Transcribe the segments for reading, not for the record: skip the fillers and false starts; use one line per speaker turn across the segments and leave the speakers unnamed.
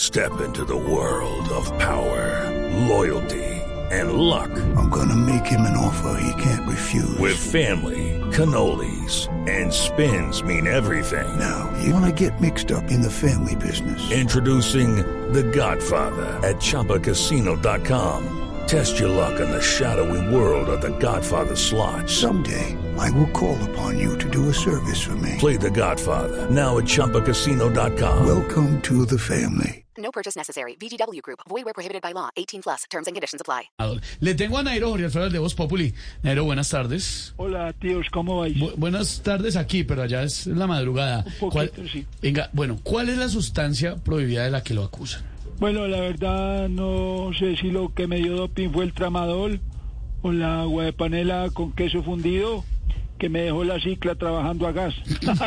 Step into the world of power, loyalty, and luck.
I'm gonna make him an offer he can't refuse.
With family, cannolis, and spins mean everything.
Now, you wanna get mixed up in the family business.
Introducing The Godfather at ChumbaCasino.com. Test your luck in the shadowy world of The Godfather slot.
Someday, I will call upon you to do a service for me.
Play The Godfather now at ChumbaCasino.com.
Welcome to the family.
No purchase necessary. VGW Group. Void where prohibited by law. 18 plus. Terms and conditions apply.
Le tengo a Nairo Jorge Alfredo de Voz Populi. Nairo, buenas tardes.
Hola, tíos, ¿cómo vais?
Buenas tardes aquí, pero allá es la madrugada.
Un poquito, sí.
Venga, bueno, ¿cuál es la sustancia prohibida de la que lo acusan?
Bueno, la verdad no sé si lo que me dio doping fue el tramadol o la agua de panela con queso fundido que me dejó la cicla trabajando a gas.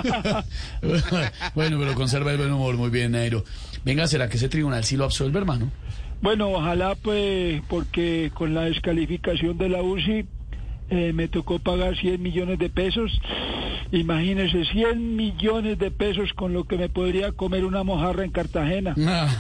Bueno, pero conserva el buen humor, muy bien, Nairo. Venga, ¿será que ese tribunal sí lo absuelve, hermano?
Bueno, ojalá pues, porque con la descalificación de la UCI me tocó pagar 100 millones de pesos. Imagínese, 100 millones de pesos con lo que me podría comer una mojarra en Cartagena.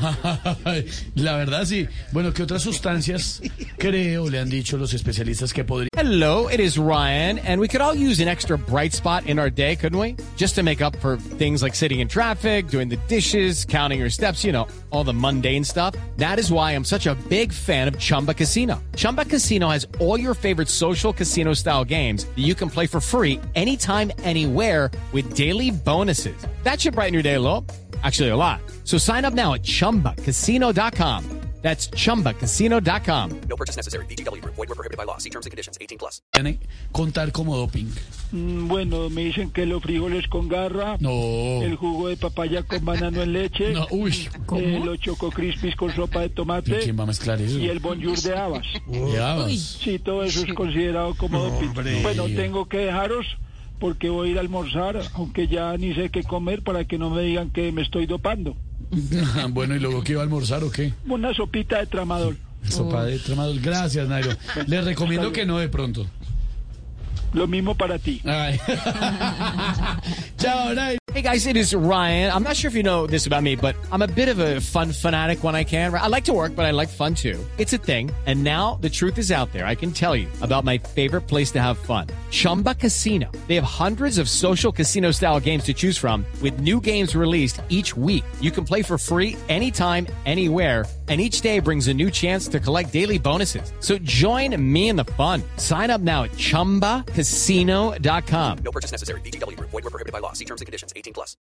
La verdad sí. Bueno, ¿qué otras sustancias creo le han dicho los especialistas que podría?
Hello, it is Ryan, and we could all use an extra bright spot in our day, couldn't we? Just to make up for things like sitting in traffic, doing the dishes, counting your steps, you know, all the mundane stuff. That is why I'm such a big fan of Chumba Casino. Chumba Casino has all your favorite social casino-style games that you can play for free anytime, anywhere with daily bonuses. That should brighten your day a little. Actually, a lot. So sign up now at ChumbaCasino.com. That's ChumbaCasino.com.
No purchase necessary. VGW Group. Void where prohibited by law. See terms and conditions. 18 plus.
Contar como doping.
Bueno, me dicen que los frijoles con garra,
No.
el jugo de papaya con banano en leche,
No, uy.
los choco crispies con sopa de tomate
¿Quién va a mezclar eso?
y el bonjour de habas.
Ya vas.
Sí, todo eso es considerado como doping.
hombre.
Bueno, tengo que dejaros porque voy a ir a almorzar, aunque ya ni sé qué comer para que no me digan que me estoy dopando.
Bueno, ¿y luego qué va a almorzar o qué?
Una sopita de tramadol.
Sopa de tramadol. Gracias, Nairo. Le recomiendo que no de pronto.
Lo mismo para ti.
Ay. Chao, Nairo.
Hey guys, it is Ryan. I'm not sure if you know this about me, but I'm a bit of a fun fanatic when I can. I like to work, but I like fun too. It's a thing. And now the truth is out there. I can tell you about my favorite place to have fun. Chumba Casino. They have hundreds of social casino style games to choose from with new games released each week. You can play for free anytime, anywhere. And each day brings a new chance to collect daily bonuses. So join me in the fun. Sign up now at ChumbaCasino.com.
No purchase necessary. VGW Group. Void where prohibited by law. See terms and conditions. 18 plus.